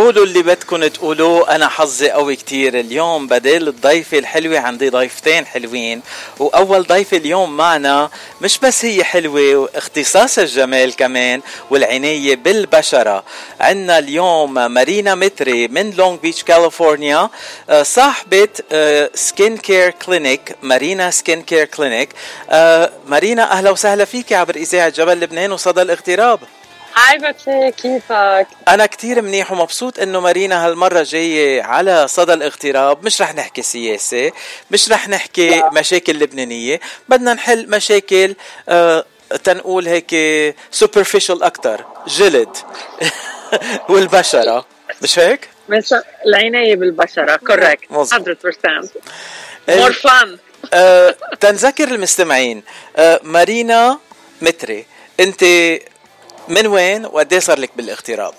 قولوا اللي بدكم تقولوه. أنا حظي قوي كتير اليوم، بدل الضيفة الحلوة عندي ضيفتين حلوين. وأول ضيفة اليوم معنا مش بس هي حلوة واختصاص الجمال كمان والعناية بالبشرة. عنا اليوم مارينا متري من لونج بيتش كاليفورنيا، صاحبة سكين كير كلينيك، مارينا سكين كير كلينيك. مارينا أهلا وسهلا فيك عبر إذاعة جبل لبنان وصدى الاغتراب. هاي باتشي، كيفك؟ أنا كتير منيح ومبسوط إنه مارينا هالمرة جاية على صدى الاغتراب. مش رح نحكي سياسة، مش رح نحكي مشاكل لبنانية، بدنا نحل مشاكل تنقول هيك superficial أكتر، جلد والبشرة، مش هيك؟ مش العناية بالبشرة، correct 100% more fun. تنذكر المستمعين، مارينا متري، أنت من وين وقديه صار لك بالاغتراب؟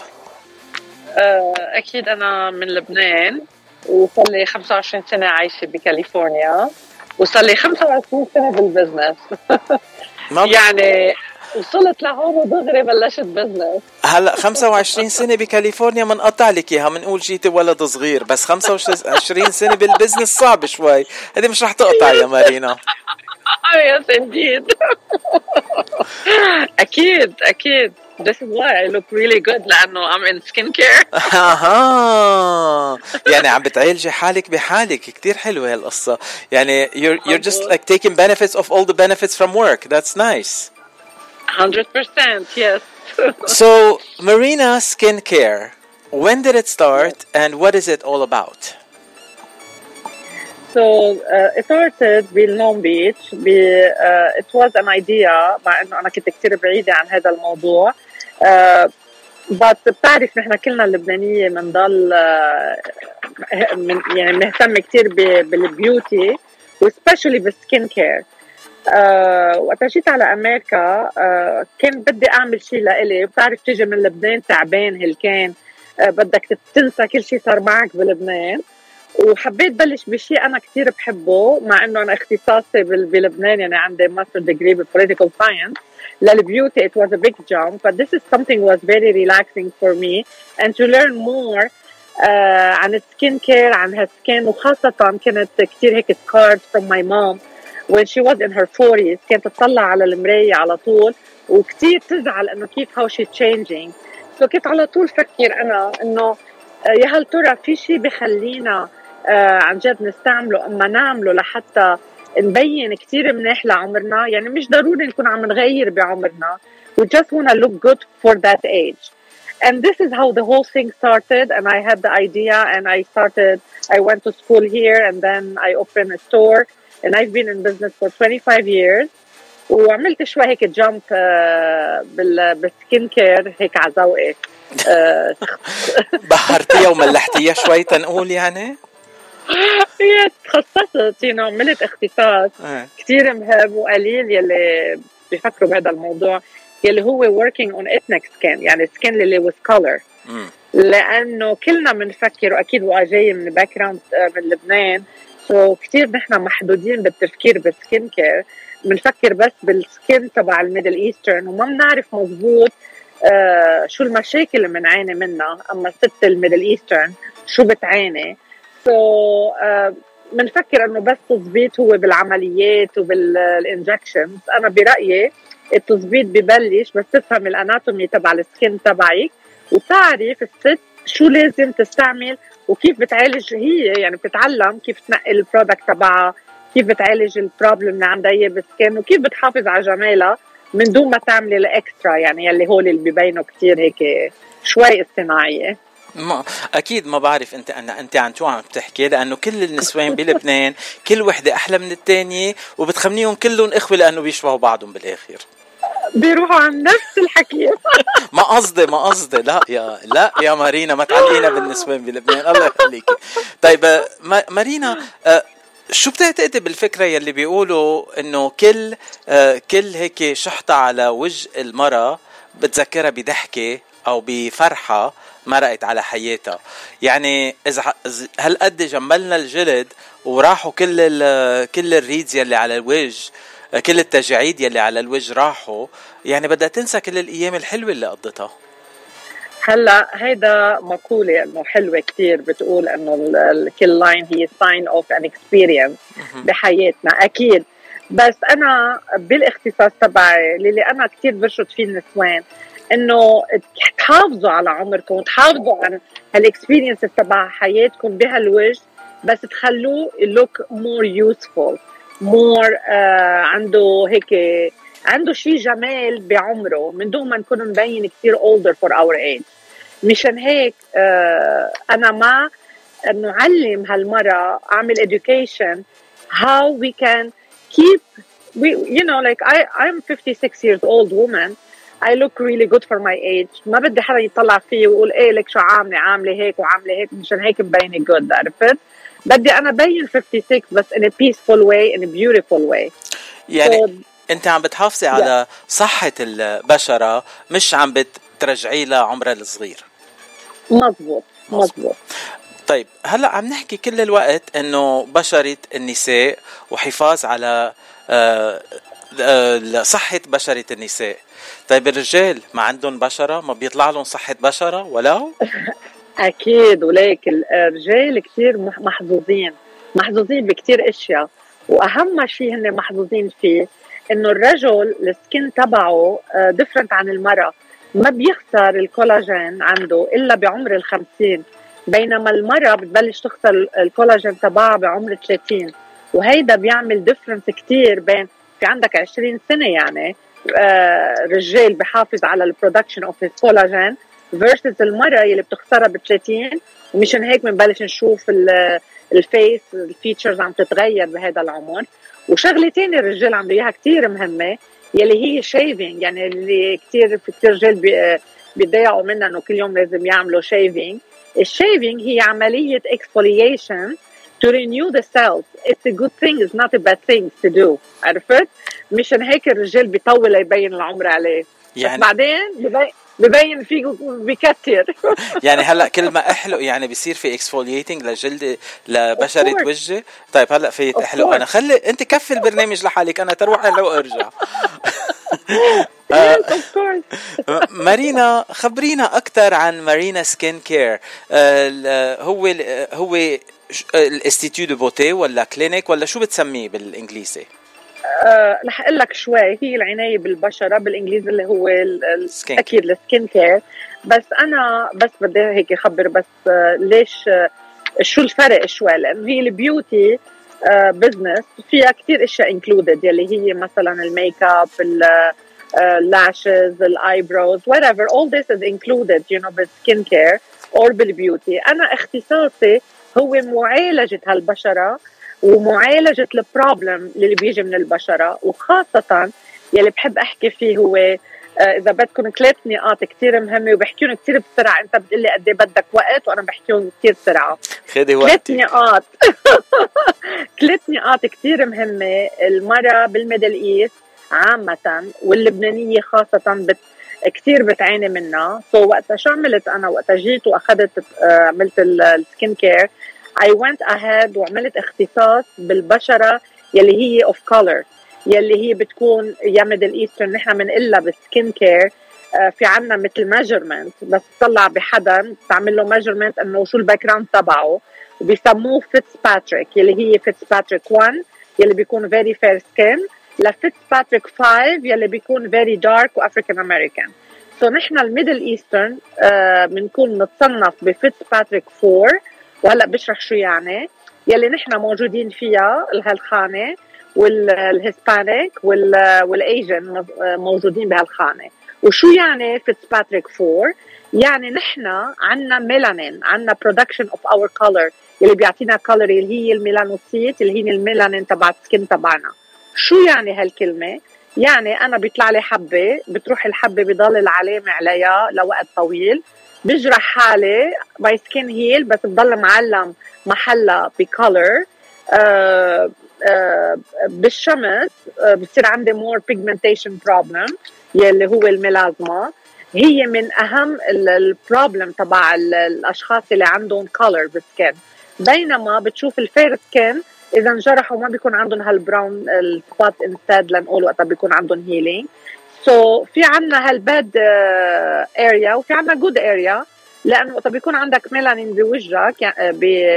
أكيد أنا من لبنان، وصار لي 25 سنة عايشة بكاليفورنيا، وصار لي 25 سنة بالبزنس. يعني وصلت لهون ودغري بلشت بزنس. هلا 25 سنة بكاليفورنيا منقطع لك اياها، منقول جيتي ولد صغير، بس 25 سنة بالبزنس صعب شوي، هذه مش رح تقطع يا مارينا. Yes indeed. أكيد. This is why I look really good, لأنه I'm in skincare. يعني عم بتعالجي حالك بحالك. كتير حلوة هالقصة. يعني you're just like taking benefits of all the benefits from work. That's nice. 100%, yes. So, Marina Skincare, when did it start and what is it all about? So, it started in Long Beach. It was an idea, مع إنه أنا كنت كتير بعيدة عن هذا الموضوع. بس بتعرف نحن كلنا اللبنانية منضل يعني مهتم كتير بالبيوتي وسبيشالي بالسكين كير. وقت جيت على أمريكا كان بدي أعمل شيء لإلي. بتعرف تيجي من لبنان تعبان هلكان، بدك تنسى كل شيء صار معك بلبنان، وحبيت بلش بشيء أنا كتير بحبه، مع إنه أنا اختصاصي بلبنان يعني عندي ماستر ديجري بالبوليتيكال ساينس. للبيوتي it was a big jump, but this is something was very relaxing for me, and to learn more عن السكين كير، عن هالسكين، وخاصة كانت كتير هيك scarred from my mom when she was in her 40s. كانت تطلع على المراية على طول وكتير تزعل إنه كيف how she's changing. so كنت على طول فكر أنا إنه يا هل ترى في شيء بخلينا عن جد نستعمله أما نعمله لحتى نبين كتير منيح لعمرنا. يعني مش ضروري نكون عم نغير بعمرنا. we just want to look good for that age. And this is how the whole thing started, and I had the idea and I went to school here and then I opened a store and I've been in business for 25 years. وعملت شوي هيك جامب بالسكين كير هيك على ذوقي. بحرتيها وملحتيها شوي تنقول يعني. هي تخصصت عملت اختصاص كتير مهم، وقليل يلي بيفكروا بهذا الموضوع يلي هو working on ethnic skin، يعني skin اللي with color. لأنه كلنا منفكر، وأكيد وأجاي من باك جراوند من لبنان، كتير نحن محدودين بالتفكير بالسكين كير. منفكر بس بالسكين تبع الميدل إيسترن، وما بنعرف مزبوط شو المشاكل اللي منعاني منها. أما ست الميدل إيسترن شو بتعاني. منفكر انه بس تظبيط هو بالعمليات وبالانجكشنز. انا برأيي التظبيط ببلش بس تفهم الاناتومي تبع السكين تبعك، وتعرف الست شو لازم تستعمل وكيف بتعالج هي. يعني بتتعلم كيف تنقي البرودكت تبعها، كيف بتعالج البروبلم اللي عندها هي بالسكين، وكيف بتحافظ على جمالها من دون ما تعملي الاكسترا، يعني يلي هول اللي بيبينوا كتير هيك شوي اصطناعيه. ما اكيد ما بعرف انت عن شو عم تحكي، لانه كل النسوان بلبنان كل وحده احلى من الثانيه، وبتخمنيهم كلهم اخوه لانه بيشبهوا بعضهم بالاخر. بيروحوا عن نفس الحكي. ما قصدي لا يا مارينا، ما تعلقينا بالنسوان بلبنان الله يخليكي. طيب مارينا، شو بتعتقدي بالفكره يلي بيقولوا انه كل هيك شحطه على وجه المرأة بتذكرها بضحكه او بفرحه مرقت على حياتها؟ يعني هل قد جملنا الجلد وراحوا كل الريدز يلي على الوجه، كل التجاعيد يلي على الوجه راحوا، يعني بدها تنسى كل الايام الحلوه اللي قضتها. هلا هيدا مقولة انه حلوة كتير، بتقول انه كل لاين هي sign of an experience بحياتنا اكيد. بس انا بالاختصاص تبعي اللي انا كتير برشد فيه النسوان، انه تحافظوا على عمركم وتحافظوا على هالاكسبيرينس تبع حياتكم بهالوجه، بس تخلوه look more useful more عنده هيك، عنده شيء جمال بعمره من دون ما نكون مبين كتير older for our age. مشان هيك أنا مع نعلم هالمرة، أعمل education how we can keep you know like I'm 56 years old woman. I look really good for my age. ما بدي حدا يطلع فيه ويقول ايه لك شو عاملة هيك وعاملة هيك، مشان هيك مبينة good. عرفت؟ بدي أنا بين 56 بس in a peaceful way in a beautiful way. يعني انت عم بتحافظي على صحة البشرة، مش عم بترجعي لها عمرها الصغير. مزبوط. طيب هلأ عم نحكي كل الوقت انه بشرة النساء وحفاظ على صحة بشرة النساء. طيب الرجال ما عندهم بشرة؟ ما بيطلع لهم صحة بشرة ولو؟ أكيد، وليك الرجال كتير محظوظين بكتير أشياء، وأهم شيء هن محظوظين فيه إنه الرجل السكين تبعه ديفرنت عن المرأة، ما بيخسر الكولاجين عنده إلا بعمر 50، بينما المرأة بتبلش تخسر الكولاجين تبعها بعمر 30. وهيدا بيعمل ديفرنس كتير بين في عندك 20 سنة يعني رجال بحافظ على البرودكشن اوف الكولاجين versus المرأة اللي بتخسرها ب30. ومشان هيك بنبلش نشوف الفيس الفيتشرز عم تتغير بهذا العمر. وشغلتين الرجال عم اياها كتير مهمة يلي هي شيفينج، يعني اللي كتير رجال بيضيعوا منها انه كل يوم لازم يعملوا شيفينج. الشيفينج هي عملية exfoliation to renew the cells. It's a good thing, it's not a bad thing to do. عرفت؟ مشان هيك الرجال بيطول يبين العمر عليه، يعني بس بعدين ببين فيه بكتر. يعني هلا كل ما احلق يعني بيصير في اكسفولييتنج لجلد لبشره وجهي. طيب هلا فيت احلق انا، خلي انت كفي البرنامج لحالك، انا تروح لو ارجع. مارينا، خبرينا اكثر عن مارينا سكين كير. هو الانستيتيو دو بوتي ولا كلينيك ولا شو بتسميه بالانجليزي؟ رح اقول لك شوي. هي العنايه بالبشره بالانجليزي اللي هو اكيد السكين كير، بس انا بس بدي هيك اخبر بس ليش شو الفرق شوي، لانه هي البيوتي بزنس فيها كتير اشياء انكلودد، يلي هي مثلا الميك اب، اللاشز، الايبروز، whatever, all this is included you know بالسكين كير or بالبيوتي. انا اختصاصي هو معالجه هالبشره ومعالجة البروبلم اللي بيجي من البشرة، وخاصة يلي بحب أحكي فيه هو إذا بدكم 3 نقاط كتير مهمة وبحكيهم كتير بسرعة. أنت بتقلي قد إيه بدك وقت وأنا بحكيهم كتير بسرعة. خدي وقتك. 3 نقاط 3 نقاط كتير مهمة. المرأة بالميدل إيست عامة واللبنانية خاصة كتير بتعاني منها. وقتها شو عملت أنا؟ وقتها جيت وأخذت عملت السكين كير، I went ahead وعملت اختصاص بالبشرة يلي هي of color، يلي هي بتكون يا ميدل ايسترن. نحن بنقلها بالسكين كير في عنا مثل measurement، بس تطلع بحدا تعمل له measurement انه شو الباك جراوند تبعه، وبيسموه فيتسباتريك، يلي هي فيتسباتريك 1 يلي بيكون very fair skin، لفيتسباتريك 5 يلي بيكون very dark وافريكان امريكان. نحن الميدل ايسترن بنكون نتصنف بفيتسباتريك 4، وهلا بشرح شو يعني. يلي نحن موجودين فيها هالخانه، والهسبانيك والايجن موجودين بهالخانه. وشو يعني فيتسباتريك 4؟ يعني نحن عنا ميلانين، عنا برودكشن اوف اور كولر يلي بيعطينا كولر اللي هي الميلانوسيت اللي هي الميلانين تبع السكين تبعنا. شو يعني هالكلمه؟ يعني انا بيطلع لي حبه، بتروح الحبه بضل العلامه عليها لوقت طويل، بجرح حالي باي سكين هيل، بس بضل معلم محلها بكولر. بالشمس بصير عندي مور بيجمنتيشن بروبلم يلي هو الميلازما. هي من اهم البروبلم تبع الاشخاص اللي عندهم كولر بالسكين، بينما بتشوف الفير سكين اذا انجرحوا ما بيكون عندهم هالبراون السبوت انستاد، لنقول وقتها بيكون عندهم هيلينج. في عنا هالباد اريا وفي عنا جود اريا، لانه وقت بيكون عندك ميلانين بوجهك يعني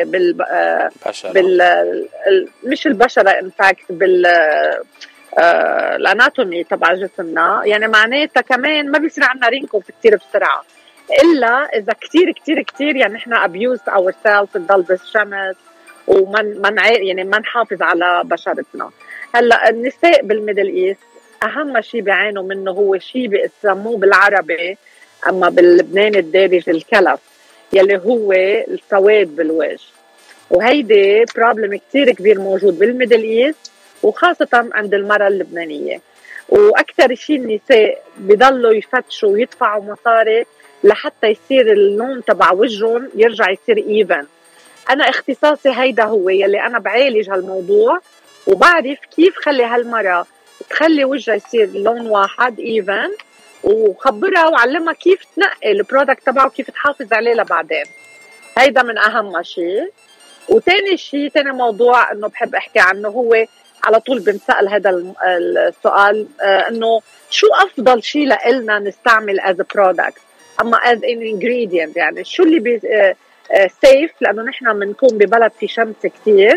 مش البشره انفاكت الاناتومي تبع جسمنا، يعني معناتها كمان ما بيصير عندنا رينكل كثير بسرعه، الا اذا كثير كثير كثير يعني احنا abused ourselves، نضل بالشمس يعني ما نحافظ على بشرتنا. هلا النساء بالميدل ايست اهم شيء بيعانوا منه هو شيء بيسموه بالعربي اما باللبناني الدارج الكلف، يلي هو السواد بالوجه، وهيدي بروبلم كتير كبير موجود بالميدل ايست وخاصة عند المرأة اللبنانية. واكثر شيء النساء بيضلوا يفتشوا ويدفعوا مصاري لحتى يصير اللون تبع وجههم يرجع يصير ايفن. انا اختصاصي هيدا هو يلي انا بعالج هالموضوع، وبعرف كيف خلي هالمرأة تخلي وجهها يصير لون واحد ايفن، وخبرها وعلمها كيف تنقي البرودكت تبعه وكيف تحافظ عليه لبعدين. هيدا من اهم شيء. وتاني شيء، تاني موضوع انه بحب احكي عنه، هو على طول بنسأل هذا السؤال انه شو افضل شيء لنا نستعمل as a product اما as an ingredient، يعني شو اللي سيف، لانه نحن بنكون ببلد في شمس كتير.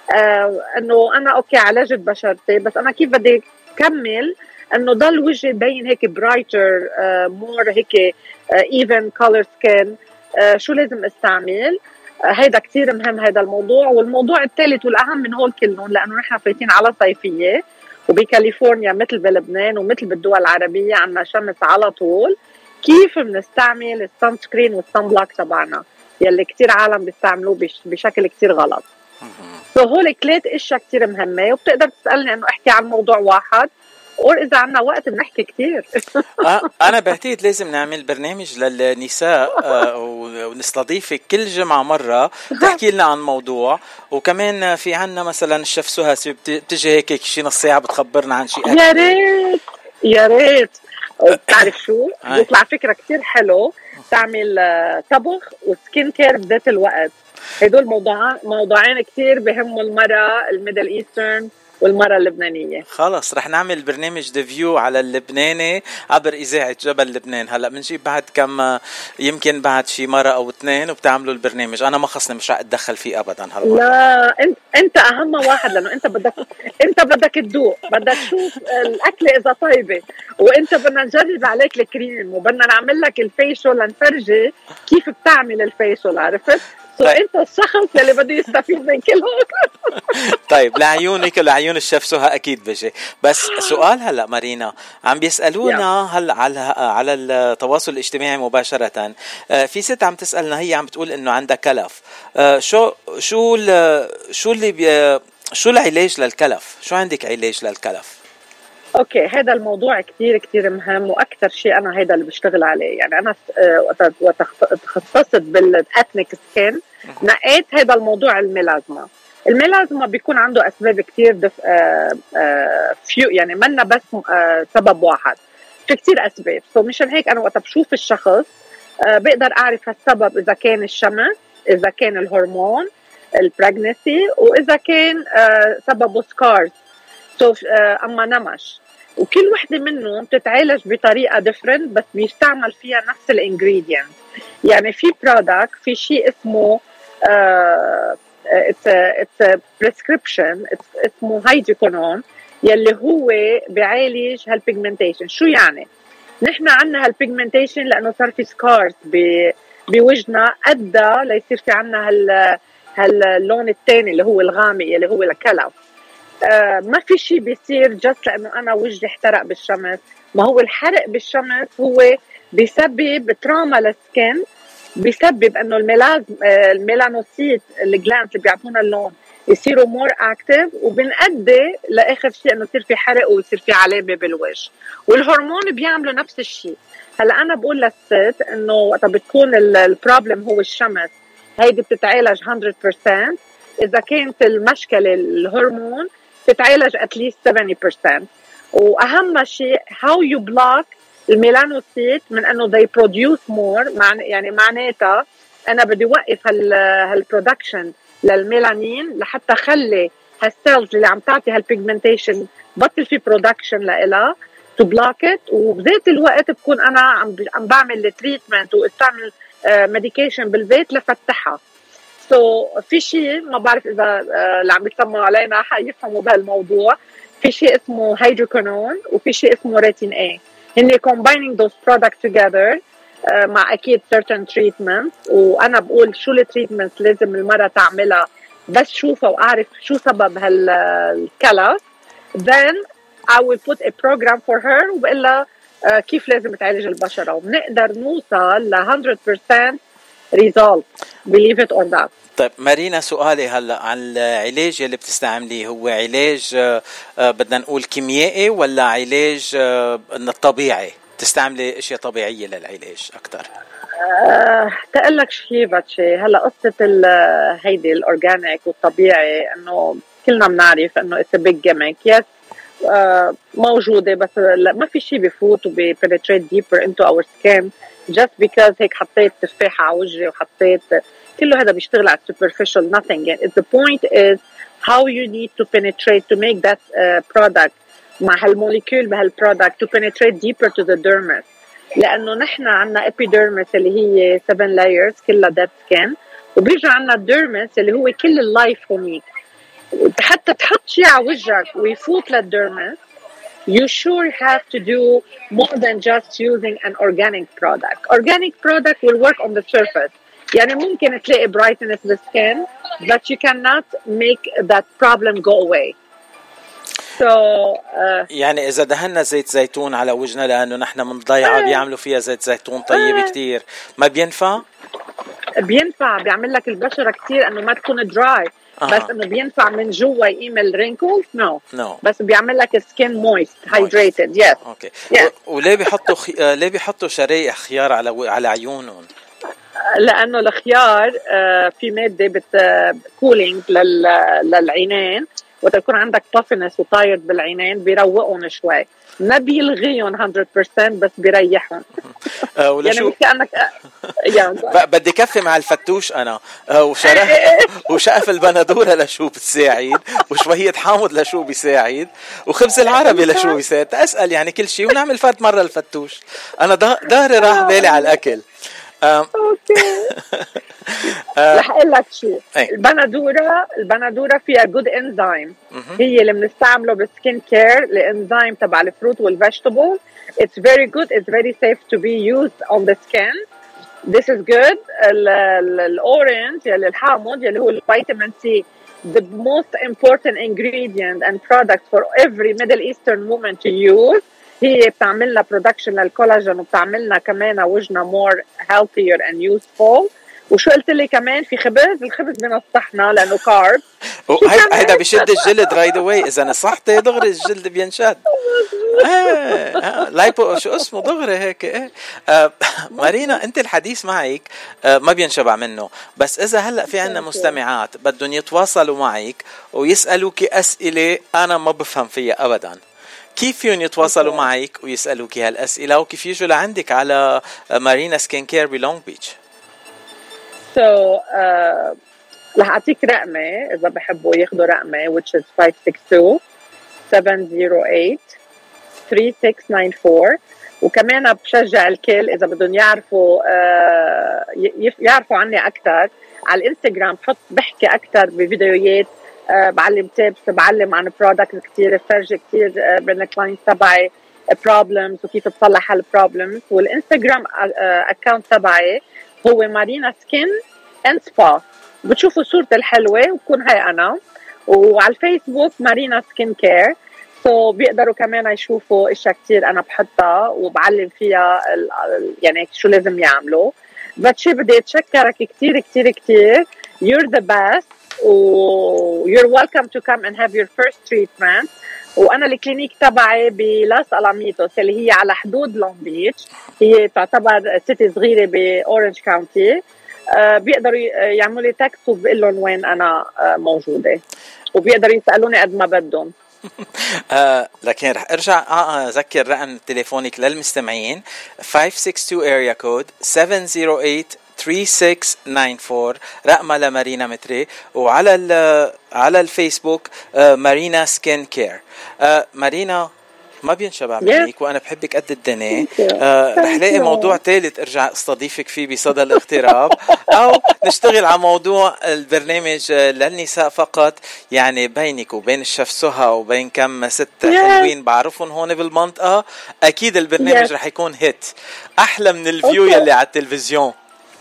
انه انا اوكي عالجت بشرتي، بس انا كيف بدي كمل انه ضل وجهي بين هيك برايتر مور هيك even color skin، شو لازم استعمل؟ هيدا كتير مهم هيدا الموضوع. والموضوع الثالث والأهم من هول كلهم، لأنه نحن فايتين على صيفية وبكاليفورنيا مثل بلبنان ومثل بالدول العربية عنا شمس على طول، كيف بنستعمل السان سكرين والسان بلاك تبعنا يلي كتير عالم بيستعملوه بشكل كتير غلط. هول 3 اشياء كتير مهمة، وبتقدر تسألني انه احكي عن موضوع واحد، إذا عنا وقت بنحكي كتير. أنا بعتقد لازم نعمل برنامج للنساء ونستضيفك كل جمعة مرة تحكي لنا عن موضوع، وكمان في عنا مثلا الشيف سهى بتجي هيك شي نص ساعة بتخبرنا عن شيء. يا ريت يا ريت. بتعرف شو بيطلع فكرة كتير حلو، تعمل طبخ وسكين كير بذات الوقت. هدول موضوعين كتير بهموا المرأة الميدل ايسترن والمرة اللبنانية. خلص رح نعمل برنامج ديفيو على اللبناني عبر إذاعة جبل لبنان. هلأ منجيب بعد كم يمكن بعد شي مرة أو 2 وبتعملوا البرنامج. أنا ما خصني مش رح أتدخل فيه أبدا هلأ. لا أنت أهم واحد، لأنه أنت بدك تدوق، بدك تشوف الأكلة إذا طيبة، وأنت بدنا نجرب عليك الكريم، وبدنا نعمل لك الفيشل لنفرجي كيف بتعمل الفيشل، عرفت؟ انت الشخص اللي بده يستفيد من كلهم. طيب لعيونك ولعيون الشيف سهى اكيد بجي. بس سؤال هلا مارينا عم بيسالونا هلا على التواصل الاجتماعي مباشره، في ست عم تسالنا، هي عم بتقول انه عندها كلف. شو العلاج للكلف؟ شو عندك علاج للكلف؟ اوكي، هذا الموضوع كتير كتير مهم، واكثر شيء انا هذا اللي بشتغل عليه. يعني انا وتخصصت بالاثنيك سكين، نقيت هذا الموضوع الميلازما بيكون عنده اسباب كتير يعني منا بس سبب واحد، في كتير اسباب. مشان هيك انا وقت بشوف الشخص بقدر اعرف السبب، اذا كان الشمس، اذا كان الهرمون البريجنسي، واذا كان سببه سكارز اما نمش. وكل وحده منهم بتتعالج بطريقه ديفرنت، بس بيستعمل فيها نفس الانجريدينت. يعني في برودكت، في شيء اسمه it's prescription، اسمه هيدروكونون، يلي هو بيعالج هالبيجمنتيشن. شو يعني؟ نحن عنا هالبيجمنتيشن لانه صار في سكارز بوجهنا، ادى ليصير في عنا هاللون الثاني اللي هو الغامق اللي هو الكلف. ما في شيء بيصير جست لأنه أنا وجهي احترق بالشمس. ما هو الحرق بالشمس هو بيسبب تراما للسكن، بيسبب أنه الميلانوسيت الجلاند اللي بيعطونا اللون يصيروا مور اكتيف، وبنأدي لآخر شيء أنه يصير في حرق ويصير في علامة بالوجه. والهرمون بيعملوا نفس الشيء. هلا أنا بقول للست أنه وقت بتكون البروبلم هو الشمس، هيدي بتتعالج 100%. إذا كانت المشكلة الهرمون تتعالج at least 70%. وأهم شيء how you block الميلانوسيت من أنه they produce more، يعني معناتها أنا بدي وقف هالبرودكشن للميلانين لحتى خلي هالسيلز اللي عم تعطي هالبيجمنتيشن بطل في برودكشن لإلها. to block it. وبذات الوقت بكون أنا عم بعمل التريتمنت واستعمل medication بالبيت لفتحها. في شيء ما بعرف إذا اللي عم يسمعوا علينا حيفهموا بهالموضوع. في شيء اسمه هيدروكونون وفي شيء اسمه ريتين A. هني combining those products together مع أكيد certain treatments. وأنا بقول شو التريتمنتس لازم المرأة تعملها بس شوفها وأعرف شو سبب هالكلف. Then I will put a program for her وبقلها كيف لازم تعالج البشرة وبنقدر نوصل ل 100% result. Believe it or not. طيب مارينا، سؤالي هلا عن العلاج اللي بتستعمليه، هو علاج بدنا نقول كيميائي ولا علاج الطبيعي؟ تستعملي اشياء طبيعيه للعلاج اكثر؟ تقلك شيء باتشي. هلا قصه هيدي الاورجانيك والطبيعي انه كلنا بنعرف انه اتس بيج جيميك. يس موجوده بس ما في شيء بفوت وبيبنتريت ديبر انتو اور سكين just because هيك حطيت تفاحه على وجهي وحطيت كله هذا بيشتغل على superficial nothing. The point is how you need to penetrate to make that product مع هالموليكول بهالبرودكت to penetrate deeper to the dermis. لأنه نحن عنا epidermis اللي هي 7 layers كلها dead skin وبيجي عنا dermis اللي هو كل اللايف هونيك. حتى تحط شيء على وجهك ويفوت للديرمس you sure have to do more than just using an organic product. Organic product will work on the surface. يعني ممكن تلاقي brightness the skin but you cannot make that problem go away. يعني إذا دهنا زيت زيتون على وجهنا لأنه نحن من ضيعة بيعملوا فيها زيت زيتون طيب كتير، ما بينفع؟ بينفع، بيعمل لك البشرة كتير أنه ما تكون dry. بس انه بينفع من جوا يعمل رينكلز نو بس بيعمل لك سكين مويست هايدريتد. يس اوكي. وليه بيحطوا ليه بيحطوا شرايح خيار على عيونهم؟ لانه الخيار في ماده كولينج للعينين وتكون عندك بافنس وطايرد بالعينين بيروقهم شوي. ما بيلغيهم 100% بس بيريحهم. يعني مش كأنك بدي كفي مع الفتوش أنا وشقف البندورة لشو بتساعد وشوية حامض لشو بيساعد وخبز العربي لشو بيساعد. أسأل يعني كل شيء ونعمل فرد مرة الفتوش. أنا ظهري راح بالي على الأكل. اوكي. رح اقول لك شيء. البندوره فيها جود انزيم هي اللي بنستعمله بالسكين كير. الانزيم تبع الفروت والفيجيتابل it's very good, it's very safe to be used on the skin. This is good. الاورنج يلي الحامض يلي هو الفيتامين سي the most important ingredient and product for every Middle Eastern woman to use. هي بتعمل لنا برودكشن للكولاجين وبتعمل لنا كمان وجهنا more healthier and useful. وشو قلت لي كمان في خبز؟ الخبز بنصحنا لانه كارب. هيدا بيشد الجلد رايد واي. اذا نصحتي دغري الجلد بينشد. لايبو شو اسمه دغري هيك. مارينا انت الحديث معك ما بينشبع منه. بس اذا هلا في عنا مستمعات بدهم يتواصلوا معك ويسالوك اسئله انا ما بفهم فيها ابدا، كيف يتواصلوا معك ويسألوك هالأسئلة وكيف يجوا لعندك على مارينا سكين كير بلونج بيتش؟ رح أعطيك رقمي إذا بحبوا ياخدوا رقمي which is 562-708-3694. وكمان بشجع الكل إذا بدهم يعرفوا عني أكتر على الإنستغرام بحكي أكتر بفيديوهات. بعلم تيبس، بعلم عن برودكت كتير، فرجي كتير بين الكلاينت تبعي بروبلمز وكيف تصلح هالبروبلمز. والانستغرام اكاونت تبعي هو مارينا سكين اند سبا. بتشوفوا صورتي الحلوه وبكون هاي انا. وعلى الفيسبوك مارينا سكين كير. بيقدروا كمان يشوفوا اشياء كتير انا بحطها وبعلم فيها يعني شو لازم يعملوا. باتشي بدي اتشكرك كتير كتير كتير. You're the best. you're welcome to come and have your first treatment. وانا الكلينيك تبعي بلاس الاميتوس اللي هي على حدود لونج بيتش. هي تعتبر سيتي صغيره باورنج كاونتي. بيقدروا يعملوا لي تكست وبقول لهم وين انا موجوده وبيقدروا يسالوني قد ما بدهم. لكن رح ارجع اذكر رقم تليفونك للمستمعين 562 area code 708-3694 رقمها لمارينا متري. وعلى الفيسبوك مارينا سكين كير. مارينا ما بينشبع منك وأنا بحبك قد الدنيا. رح لاقي موضوع ثالث أرجع استضيفك فيه بصدى الاغتراب، أو نشتغل على موضوع البرنامج للنساء فقط، يعني بينك وبين الشيف سهى وبين كم ست حلوين بعرفهم هون بالمنطقة. أكيد البرنامج رح يكون هيت أحلى من الفيو يلي على التلفزيون.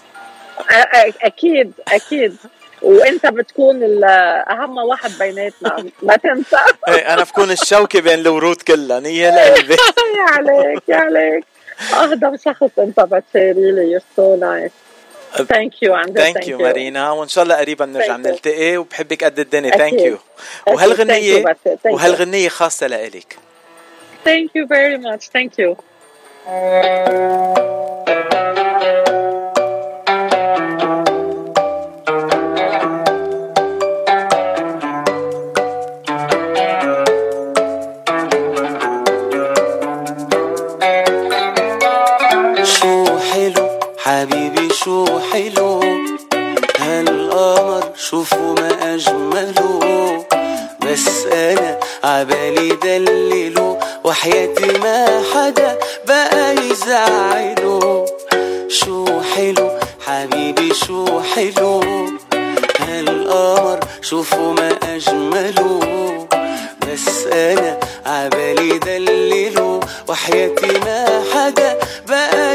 أكيد أكيد، وانت بتكون اهم واحد بيناتنا، ما تنسى. انا بكون الشوكه بين الورود كلها، نيه لقلبي. يا عليك يا عليك، اهضم شخص انت بتشيري لي. يور سو نايس. ثانك يو عندك. ثانك يو مارينا، وان شاء الله قريبا نرجع نلتقي، وبحبك قد الدنيا. ثانك يو. وهالغنيه خاصه لإلك. ثانك يو فيري ماتش. ثانك يو. حبيبي شو حلو هالقمر، شوفوا ما أجمله، بس أنا عبالي دلله، وحياتي ما حدا بقى يزعله. شو حلو حبيبي شو حلو هالقمر، شوفوا ما أجمله، بس أنا عبالي دلله، وحياتي ما حدا بقى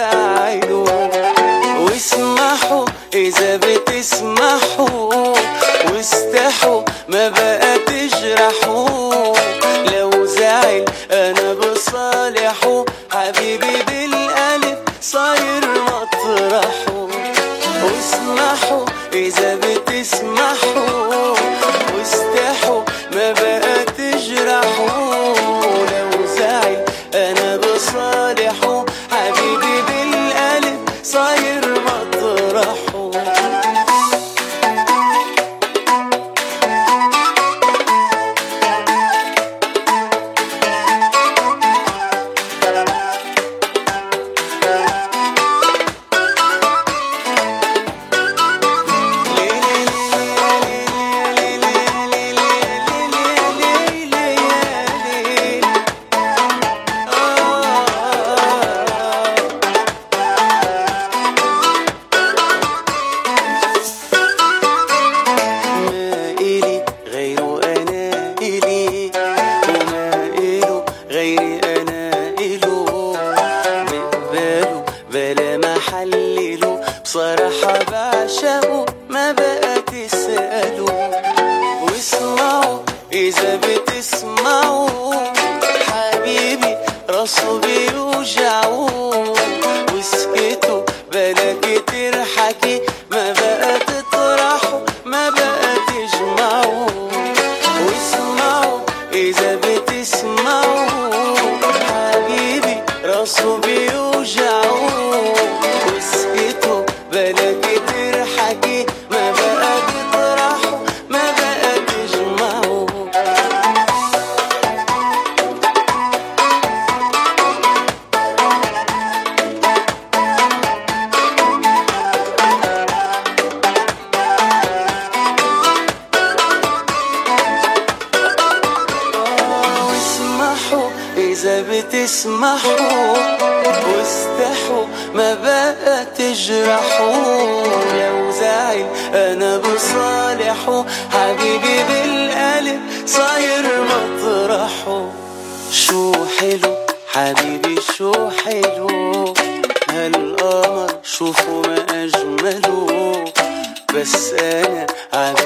يزعله. واسمحوا إذا بتسمحوا، واستحوا ما بقى تجرحوا، لو زعل أنا بصالحه، حبيبي بالقلب صاير مطرحه. واسمحوا إذا بتسمحوا، واستحوا ما بقى تجرحوا، لو زعل أنا بصالحه، حبيبي بالقلب صاير مطرحه. شوفوا ما أجمله، بس أنا